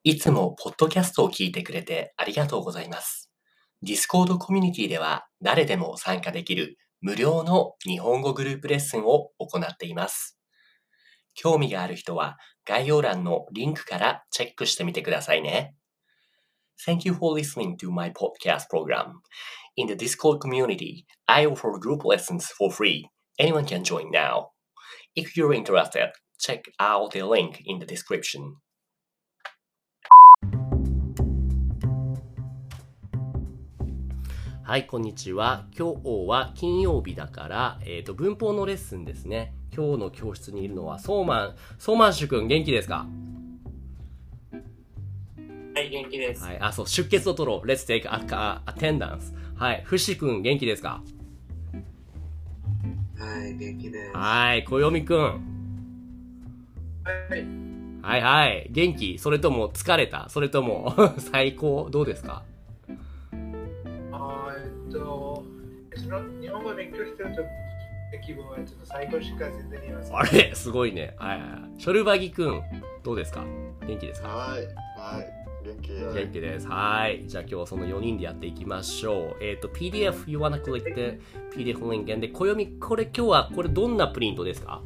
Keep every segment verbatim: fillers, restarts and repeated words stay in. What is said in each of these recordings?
いつもポッドキャストを聞いてくれてありがとうございます。Discord コミュニティでは誰でも参加できる無料の日本語グループレッスンを行っています。興味がある人は概要欄のリンクからチェックしてみてくださいね。Thank you for listening to my podcast program. In the Discord community, I offer group lessons for free. Anyone can join now. If you're interested, check out the link in the description. はい、こんにちは。今日は金曜日だから、えっと、文法のレッスンですね。今日の教室にいるのは、ソーマン、ソーマンシュ君、元気ですか？ はい、元気です。 はい、あ、そう、出血を取ろう。Let's take a, a, attendance. はい、フシ君、元気ですか？ はい、元気です。 はい、小読君。 はい。 はいはい、元気？それとも疲れた？それとも最高？どうですか？ あえっと、その日本語を勉強してると気分はちょっと最高しか全然言いません。 あれすごいね。はいはい。ショルバギ君、どうですか？元気ですか？ はい、はい、元気です。 元気です。はい。じゃあ今日はそのよにんでやっていきましょう。えっ、ー、と、ピーディーエフ、you wanna click the ピーディーエフ link で、小読み、これ今日は、これどんなプリントですか？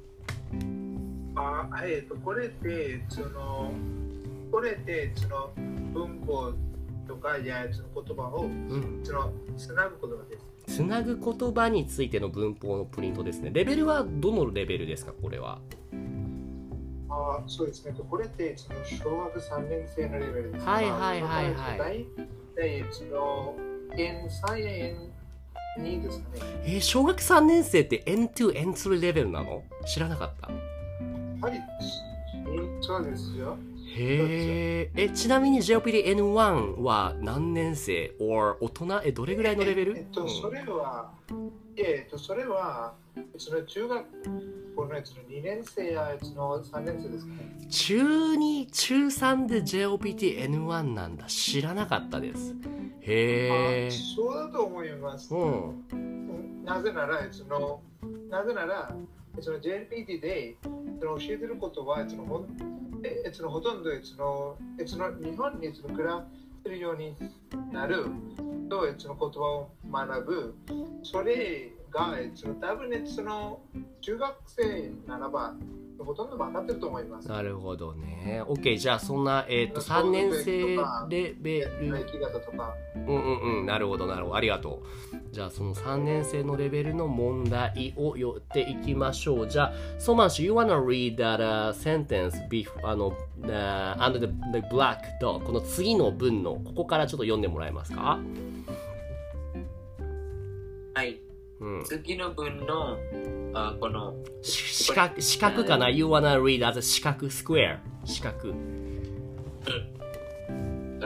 あえっと、これってその、これってその文法とかやその言葉を、うん、そのつなぐ言葉です。 つなぐ言葉についての文法のプリントですね。レベルはどのレベルですか、これは？ あそうですね。これってその小学さんねん生のレベルです。 はいはいはいはい。 大体その エヌスリー、エヌツー ですかね。 えー、小学さんねん生って エヌツー、エヌスリー レベルなの？知らなかった。 はい、そうですよ。 へえ、え、ちなみに ジェイオーピーディーエヌワン は何年生 or 大人、え、どれぐらいのレベル？ えっと、それは、えっと、それは、その中学校のやつのにねん生ややつのさんねん生ですかね。 中に、中さんで ジェイオーピーディーエヌワン なんだ。知らなかったです。へえ。 そうだと思います。うん、なぜなら、その、なぜなら、その ジェイピーティー でその教えてることはそのほんそのほとんどそのその日本にその暮らせるようになるとその言葉を学ぶ。それがその多分ねその中学生ならばほとんど分かってると思います。 なるほどね。OK、じゃあそんな、えー、とさんねん生レベル。うんうんうん、なるほどなるほど。ありがとう。じゃあそのさんねん生のレベルの問題を寄っていきましょう。じゃあ、ソマンシュ、you wanna read that、uh, sentence before, あの、uh, under the, the black dot この次の文のここからちょっと読んでもらえますか？ はい。うん、次の文のあこの四角四角かな、You wanna read as a 四角 square 四角、うん、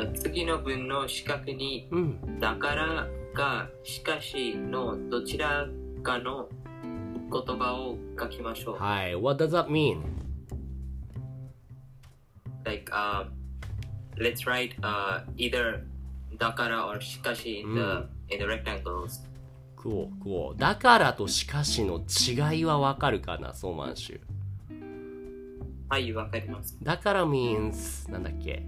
次の文の四角に、うん、だからかしかしのどちらかの言葉を書きましょう。 はい。What does that mean? Like、uh, let's write、uh, either だから or しかし in the、うん、in the rectangles。 Cool, cool. だからとしかしの違いはわかるかな、ソーマンシュ。 はい、わかります。 だから means なんだっけ？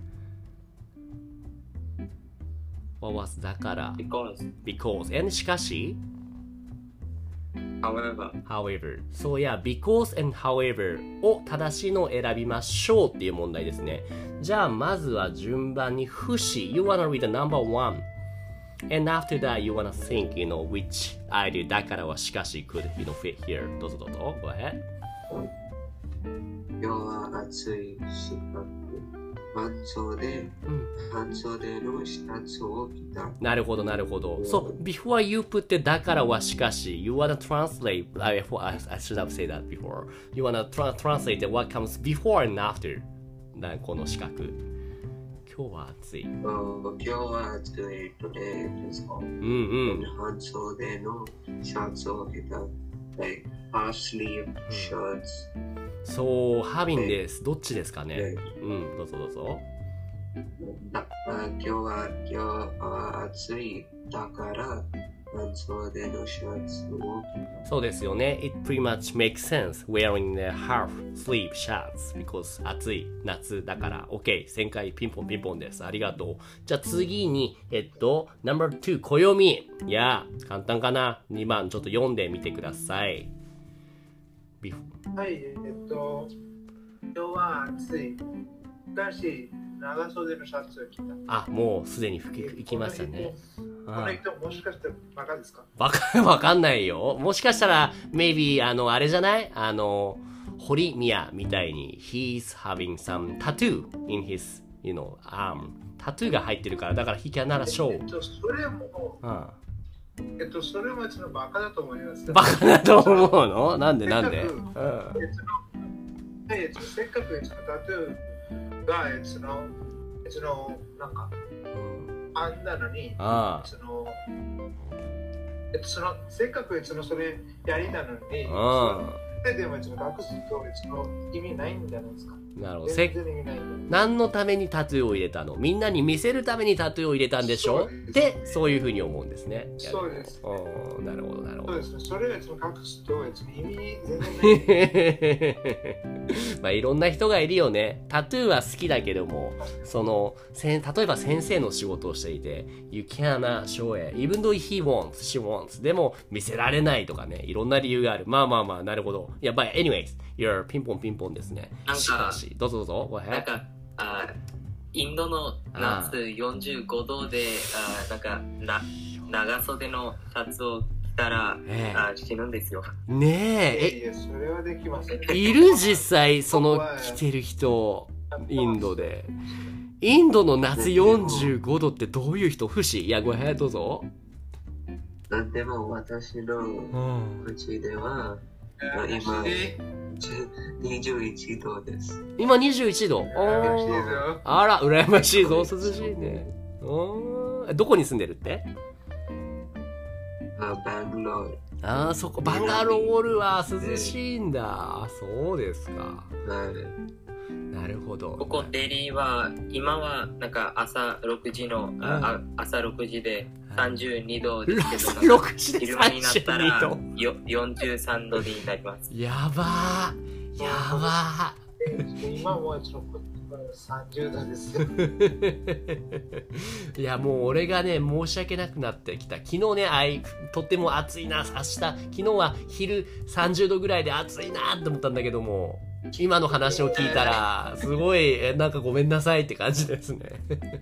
What was だから Because Because and しかし However However So yeah, because and however を正しいのを選びましょうっていう問題ですね。じゃあまずは順番にフシ You wanna read the number one?And after that, you wanna think, you know, which idea だからはしかし could, you know, fit here. どうぞどうぞ。Go ahead. 今日は暑いし、半袖、うん、半袖のシャツを着た。 なるほど、なるほど。So, before you put だからはしかし you wanna translate, I, I should have said that before. You wanna tra- translate what comes before and after. だこの四角。今日は暑い。 今日は暑いのでですか。うんうん。 半袖のシャツを着た。like half sleeve shirts。 そう、ハビンです。どっちですかね。うん、どうぞどうぞ。 今日は今日は暑いだから半袖のシャツを。 そうですよね。It pretty much makes sense wearing the half sleeve shirts because 暑い夏だから。OK。旋回ピンポンピンポンです。ありがとう。じゃあ次に、えっと、ナンバーツー、暦。いや、簡単かな。にばんちょっと読んでみてください。 はい、えっと、今日は暑い。だし、長袖のシャツを着た。 あ、もうすでに吹き行きましたね。 この人もしかしてバカですか？ わか、わかんないよ。もしかしたら、maybe あの、あれじゃないあの、堀宮みたいに、he's having some tattoo in his, you know, arm. タトゥーが入ってるから、だから he cannot show. えっと、それも、うん、えっと、それもちょっとバカだと思います。 バカだと思うの？なんでなんで？ せっかく、うんえっと、せっかくタトゥーが、えっと、えっと、なんか、あんなのに、 ああその、えっと、そのせっかくそのそれやりなのに、 あそれでもその隠すとその意味ないんじゃないですか。 なるほど。 全然意味ないんだ。 何のためにタトゥーを入れたの？みんなに見せるためにタトゥーを入れたんでしょ？で、そういうふうに思うんですね。 そうです。 おなるほど、なるほど。 そうですね。それをその隠すと意味全然ない。 まあいろんな人がいるよね。タトゥーは好きだけども、そのせん例えば先生の仕事をしていて、You cannot show it, even though he wants, she wants. でも見せられないとかね、いろんな理由がある。まあまあまあ、なるほど。いや、but anyways, you're ピンポンピンポンですね。 なんかしかし、どうぞどうぞ。Go ahead. なんかあインドの夏よんじゅうごどであなんかな長袖のシャツを着たら、ええ、あ死ぬんですよ。 ねえ、 いやそれはできません。 いる実際その着てる人インドで。インドの夏よんじゅうごどってどういう人？不思いや、ごめんどうぞ。 でも私のうちでは、うん、今にじゅういちどです。 今にじゅういちど。あら、羨ましいぞ。涼しいね。どこに住んでるって？ あ、バンガロール。 ああ、そこ、バンガロールは涼しいんだ。そうですか。なるほど。 ここデリーは、今はなんか朝ろくじの、あ朝ろくじでさんじゅうにどですけど、 朝ろくじで昼間になったらよよんじゅうさんどになります。 やばー。やばー。今もちょっとさんじゅうどですよ。 いやもう俺がね申し訳なくなってきた。昨日ねあいとっても暑いな明日昨日は昼さんじゅうどぐらいで暑いなって思ったんだけども今の話を聞いたらすごいえなんかごめんなさいって感じですね。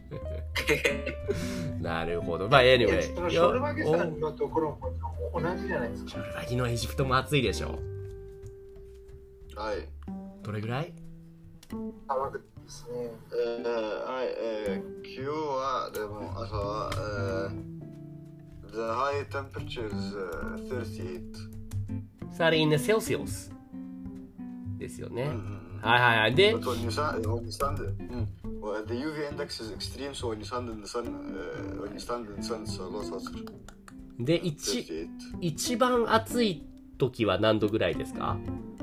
なるほど。まあ anyway ショルバギさんのところも同じじゃないですか。 ショルバギのエジプトも暑いでしょ。 はい。 どれぐらい？ 寒くですね。 えー、はい、えー、今日はでも朝は、えー、the high temperature is、uh, thirty-eight。 サーティーイン Celsius ですよね。 うんうんうん、 はいはいはい。で、 But when you stand, when you stand, mm, well, the ユーブイ index is extreme, so when you stand in the sun, uh, when you stand in the sun, it's a lot hotter. で、一一番暑い時は何度ぐらいですか？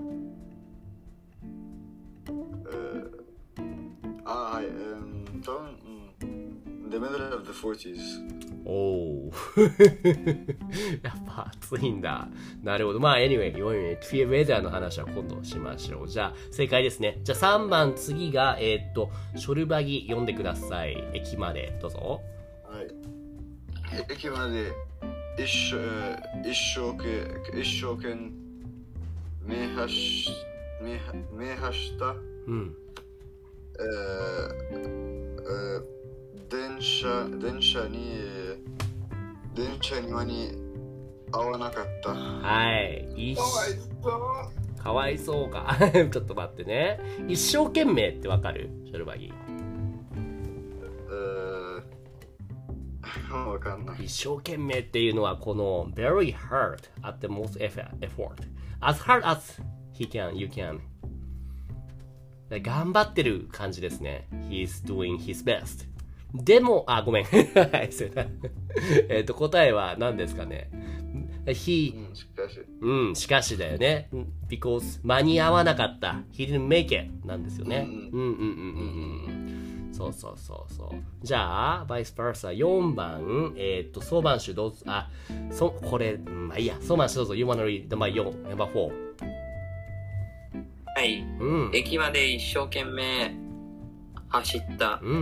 あ、はい、um, 多分、うん、the middle of the forties。 おお。やっぱ暑いんだ。なるほど。まあ、anyway、フィーウェザーの話は今度しましょう。じゃあ、正解ですね。じゃあさんばん、次が、えー、っと、ショルバギ読んでください。駅まで、どうぞ。 はい。駅まで、一生、一生懸、一生懸命走、命走した。 うん。 えーえー、電車電車に電車に間に合わなかった。 はい。 かわいそう。かわいそうか。ちょっと待ってね。一生懸命ってわかる？ショルバギ。 えー、わかんない。 一生懸命っていうのはこの very hard at the most effort as hard as he can you can頑張ってる感じですね。He's doing his best。でも、あ、ごめん。はい、それだ。えっと、答えは何ですかね。He、 うん、しかし。 うん、しかしだよね。because 間に合わなかった。He didn't make it なんですよね。うんうんうんうんうん。 そうそうそうそう。じゃあ、バイスバーサよんばん、えー、っと、ソーマンシュどうぞ、あ、そ、これ、まあいいや、ソーマンシュどうぞ、You wanna read number よん、number よん。 はい、 うん。 駅まで一生懸命走った。 うん。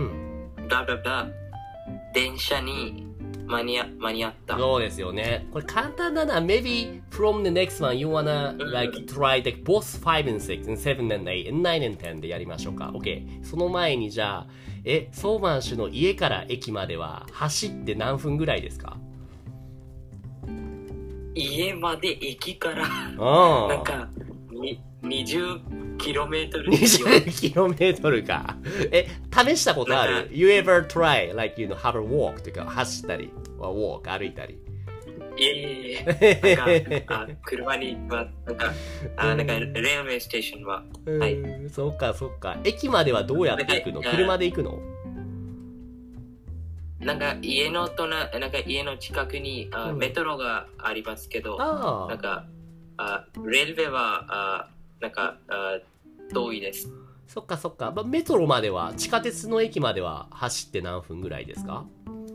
ブラブラブラ。電車に間に合間に合った。 そうですよね。これ簡単だな。Maybe from the next one you wanna like try the both five and six and seven and eight and nine and ten でやりましょうか。OK。その前にじゃあ、え、ソーマン氏の家から駅までは走って何分ぐらいですか？ 家まで駅からうん。 なんかににじゅっキロメートル。 にじゅっキロメートルか。え、試したことある？ You ever try like you know have a walk というか走ったり、walk 歩いたり。 いえいえいえ。なんかあ車にはなんかあなんかレールウェイステーションは、はい。 そっかそっか。駅まではどうやって行くの？車で行くの？ なんか家の隣なんか家の近くにあ、うん、メトロがありますけど、なんかあレールウェイはあなんかあ遠いです。 そっかそっか。メトロまでは地下鉄の駅までは走って何分ぐらいですか？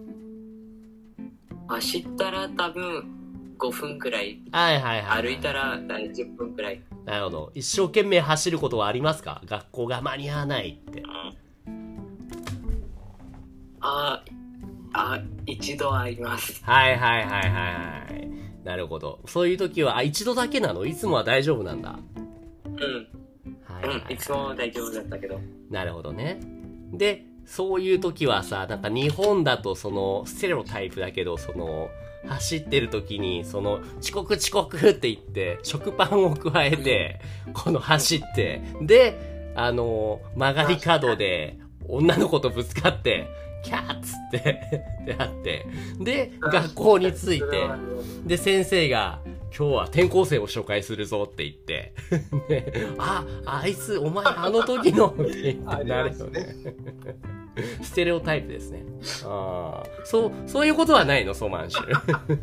走ったら多分ごふんくらい。 はいはいはい。 歩いたらじゅっぷんくらい。 なるほど。一生懸命走ることはありますか？学校が間に合わないって。 うん、ああ一度あります。 はいはいはいはいはい。なるほど。そういう時はあ一度だけなの？いつもは大丈夫なんだ。 うん。はいはいはい、うん、いつも大丈夫だったけど。 なるほどね。で、そういう時はさ、なんか日本だとそのステレオタイプだけど、その走ってる時にその遅刻遅刻って言って食パンを加えて、この走って、で、あの曲がり角で女の子とぶつかって、キャーッつってであって、で、学校に着いて、で、先生が、今日は転校生を紹介するぞって言って、ね、あ、あいつ、お前、あの時のって言ってなるよね。ステレオタイプですね。あそう、そういうことはないの、ソマンシュ。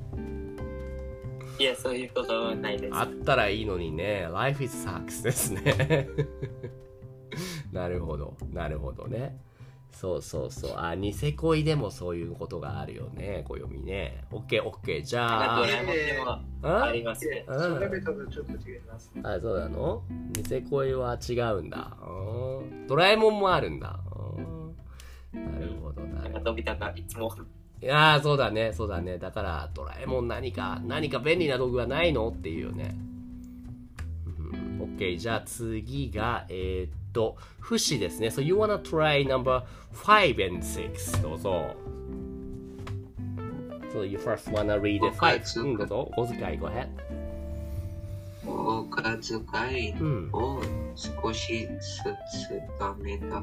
いや、そういうことはないです。 あったらいいのにね、Life is sucks ですね。なるほど、なるほどね。そうそうそう。あ、ニセ恋でもそういうことがあるよね。暦ね。オッケーオッケー。じゃあ。 ドラえもんでもありますね。 それで多分ちょっと違います。 あ、そうなの？ニセ恋は違うんだ。ドラえもんもあるんだ。なるほどな。 なんかのび太がいつも。 いやー、そうだね、そうだね。だから、ドラえもん何か、何か便利な道具はないのっていうよね。オッケー。じゃあ次が、えー、っと、不死ですね。So you wanna try number five and six. どうぞ。So you first wanna read the five. うん、どうぞ。お小遣い、go ahead. お小遣いを少しずつ貯めた。うん、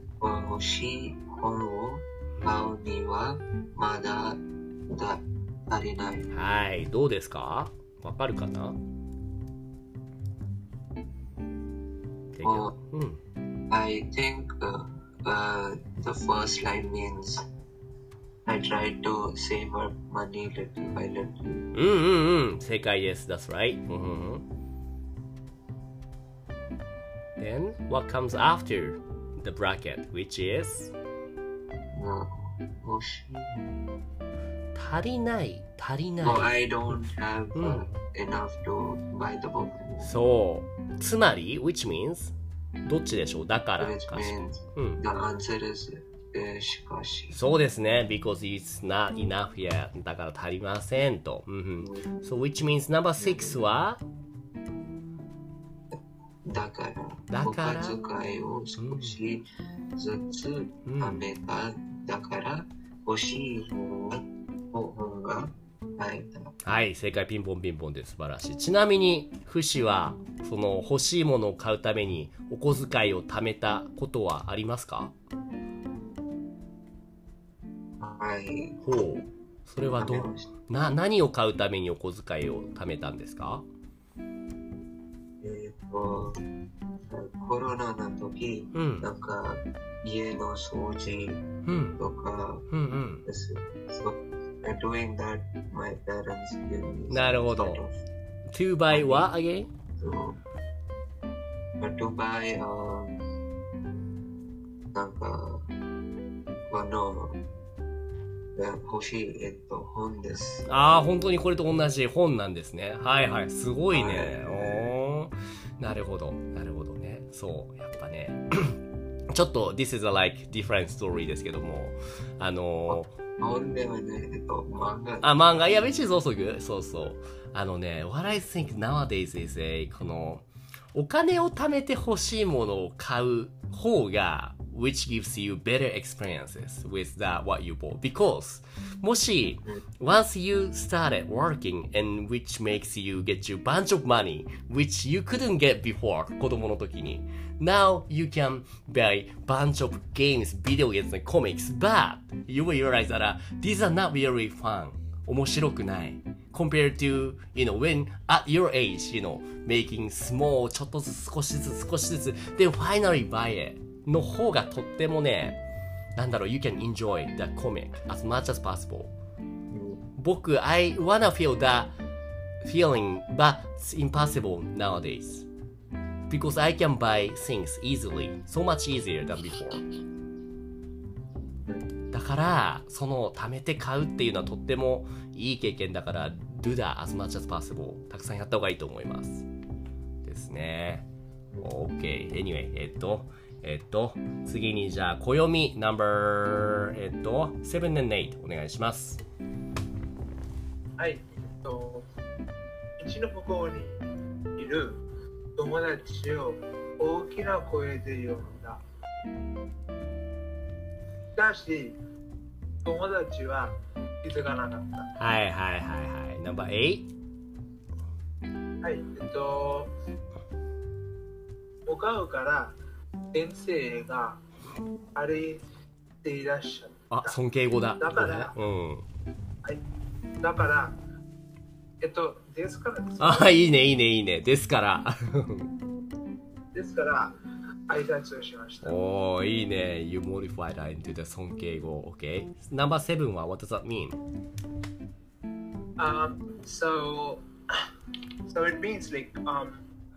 欲しい本を買うにはまだだ足りない。 はい、どうですか？わかるかな ？Oh, I think uh, uh, the first line means I try to save up money little by little. うんうんうん、正解です。That's right. Then what comes after the bracket, which is? 欲しい。 足りない、足りない。 No, I don't have、uh, enough to buy the book. そう。つまり、which means? どっちでしょう？だからか。 Which means、うん、the answer is、uh, しかし。 そうですね。because it's not enough yet. だから足りませんと。うんうん、so which means number six は？ だから、 だからお小遣いを少しずつ貯めた。うん、だから、欲しい本が買えた。 はい、正解。ピンポンピンポンで素晴らしい。ちなみに、フシは、その欲しいものを買うためにお小遣いを貯めたことはありますか？ はい。 ほう。それはどう、な、何を買うためにお小遣いを貯めたんですか？ えっと、コロナの時、うん、なんか家の掃除とかです。So, doing that, my parents give me なるほど。To buy what again? So, to buy、um, なんか、あの、欲しい、えっと、本です。 ああ、本当にこれと同じ本なんですね。はいはい、すごいね。おー、なるほど、なるほどね。そう、やっぱね。ちょっと This is a like different story ですけども、あのー、本ではね、えっと、漫画。 あ、漫画、いや、which is also good. そうそう。あのね、what I think nowadays is a このお金を貯めて欲しいものを買う方が which gives you better experiences with that what you bought. Because もし once you started working and which makes you get you bunch of money which you couldn't get before 子供の時に now you can buy bunch of games, video games and comics but you will realize that、uh, these are not really fun 面白くない compared to, you know, when at your age, you know, making small ちょっとずつ少しずつ少しずつ then finally buy it の方がとってもねなんだろう you can enjoy the comic as much as possible 僕 I wanna feel that feeling but it's impossible nowadays because I can buy things easily so much easier than before だからその貯めて買うっていうのはとってもいい経験だから do that as much as possible たくさんやった方がいいと思いますですね OK anyway えっとえっと次にじゃあ暦 number えっとセブン and エイトお願いしますはい、えっと道の向こうにいる友達を大きな声で呼んだしかし友達は気づかなかったはいはいはいはい number エイトはいえっと向かうから先生が歩いていらっしゃった。 あ、尊敬語だ。 だから、 うん。 はい。だから、えっと、ですからです。 あ、いいね、いいね、いいね。ですから。 ですから、挨拶をしました。 おー、いいね。You modified that into the 尊敬語。Okay. Number seven は what does that mean? Um, so, so it means like, um,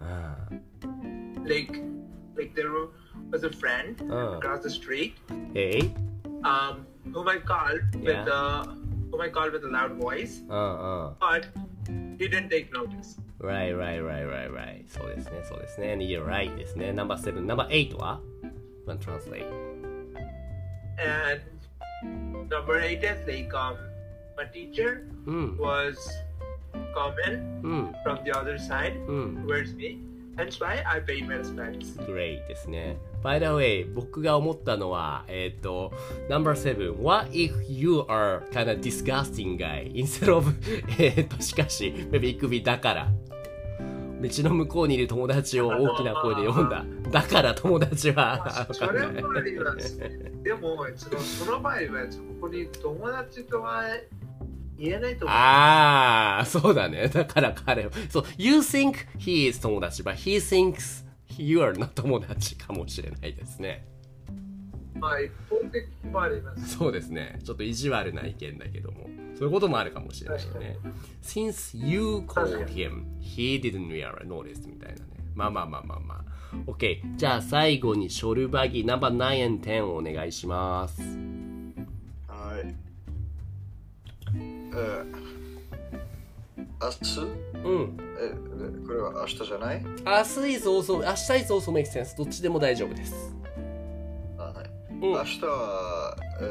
like, like there was a friend uh. across the street. Hey. Um, whom I called yeah. with uh, whom I called with a loud voice. Uh, uh. But he didn't take notice. Right, right, right, right, right. そうですね、そうですね。And you're right ですね。Number seven. Number eight は One translate. And number eight is like um, my teacher mm. was coming mm. from the other side mm. towards me. That's why I paid my respects. Great ですね。By the way, 僕が思ったのは、えっと、Number seven. What if you are kind of disgusting guy instead of えっと、しかし、maybe it could be だから。道の向こうにいる友達を大きな声で呼んだ。だから友達は。 それもあります。でも、その場合は、ここに友達とは言えないと思う。 ああ、そうだね。だから彼は。そう、you think he is 友達、but he thinks you are not 友達かもしれないですね。 まあ、一方的もあります。 そうですね。ちょっと意地悪な意見だけども。そういうこともあるかもしれないよね。Since you called him, he didn't really notice みたいなね。まあまあまあまあまあ。OK。じゃあ最後にショルバギナンバーナイン and テンをお願いします。 はい。えー、明日うん。 え、これは明日じゃない？ 明日 is also, 明日 is also makes sense. どっちでも大丈夫です。 あ、はい。 うん、 明日は、え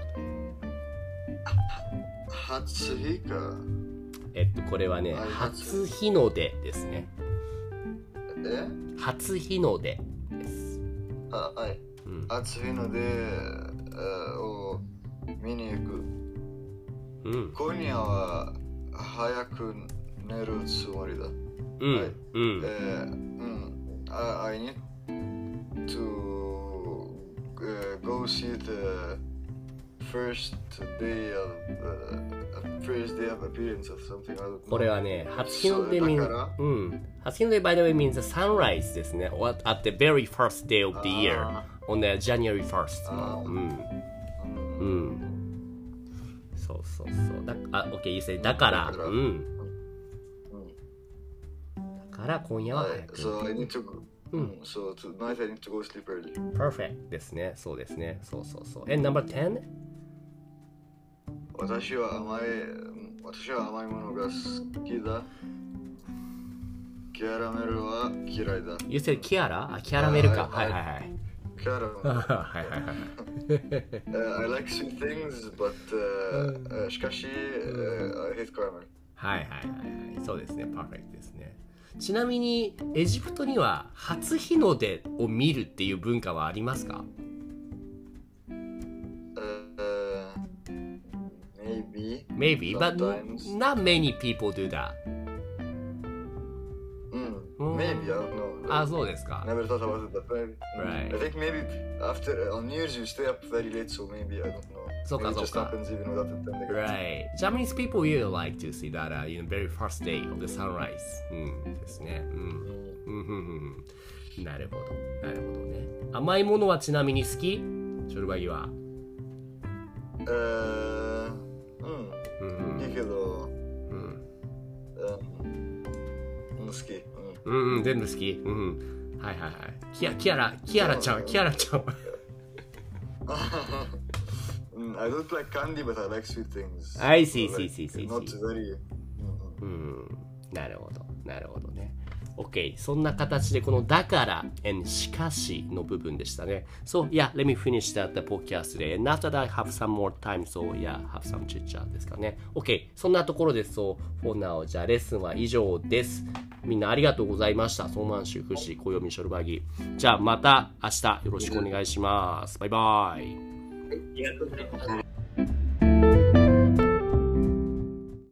ー、初日か。 えっと、これはね、初日の出ですね。 え？ 初日の出です。 あ、はい。うん、初日の出を見に行く。うん、今夜は早く寝るつもりだ。うん。はい。うん。えー、うん。I, I need to、uh, go see the first day of the first day of appearance of something. これはね、初日の出 means、うん。初日の出 by the way means the sunrise ですね。At the very first day of the year on the January first の。うん。うん。そうそうそう。だあ、OK、you say だから。うん。だから今夜は早く。 So I need to, うん、so tonight I need to go sleep early. Perfect ですね。そうですね。そうそうそう。And number ten? 私は甘い、私は甘いものが好きだ。キャラメルは嫌いだ。 You said キャラ？あ、キャラメルか。はいはいはい。 キャラメル。はいはいはい。uh, I like sweet things, but、uh, しかし、uh, I hate caramel. はいはいはいはい。そうですね。Perfect ですね。ちなみにエジプトには初日の出を見るっていう文化はありますか？ uh, Maybe. Maybe, but not many people do that. Maybe, I don't know. あ、そうですか。 Never thought about it, but maybe. Right. I think maybe after on New Year's you stay up very late, so maybe I don't know. そうか Maybe そう it just か。 happens even without intending. Right. Japanese people really like to see that uh, in the very first day of the sunrise. うんですね。うん。うんうんうん。なるほど。なるほどね。甘いものはちなみに好き？ショルバギは。 えー、うん。いいけど、うん。好き。 うんうん、全部好き。うん。はいはいはい。キア、キアラ、キアラちゃん、キアラちゃん。 I don't like candy, but I like sweet things. I see, see, see, see. Not very. うん。なるほど、なるほどね。OK。そんな形でこのだから and しかしの部分でしたね。So, yeah, let me finish that the podcast today. And after that, I have some more time. So, yeah, have some chit chat ですかね。OK。そんなところです。So, for now, じゃあレッスンは以上です。みんなありがとうございました。ソーマンシュ、フシ、コヨミ、ショルバギ。じゃあまた明日よろしくお願いします。バイバイ。 ありがとうございます。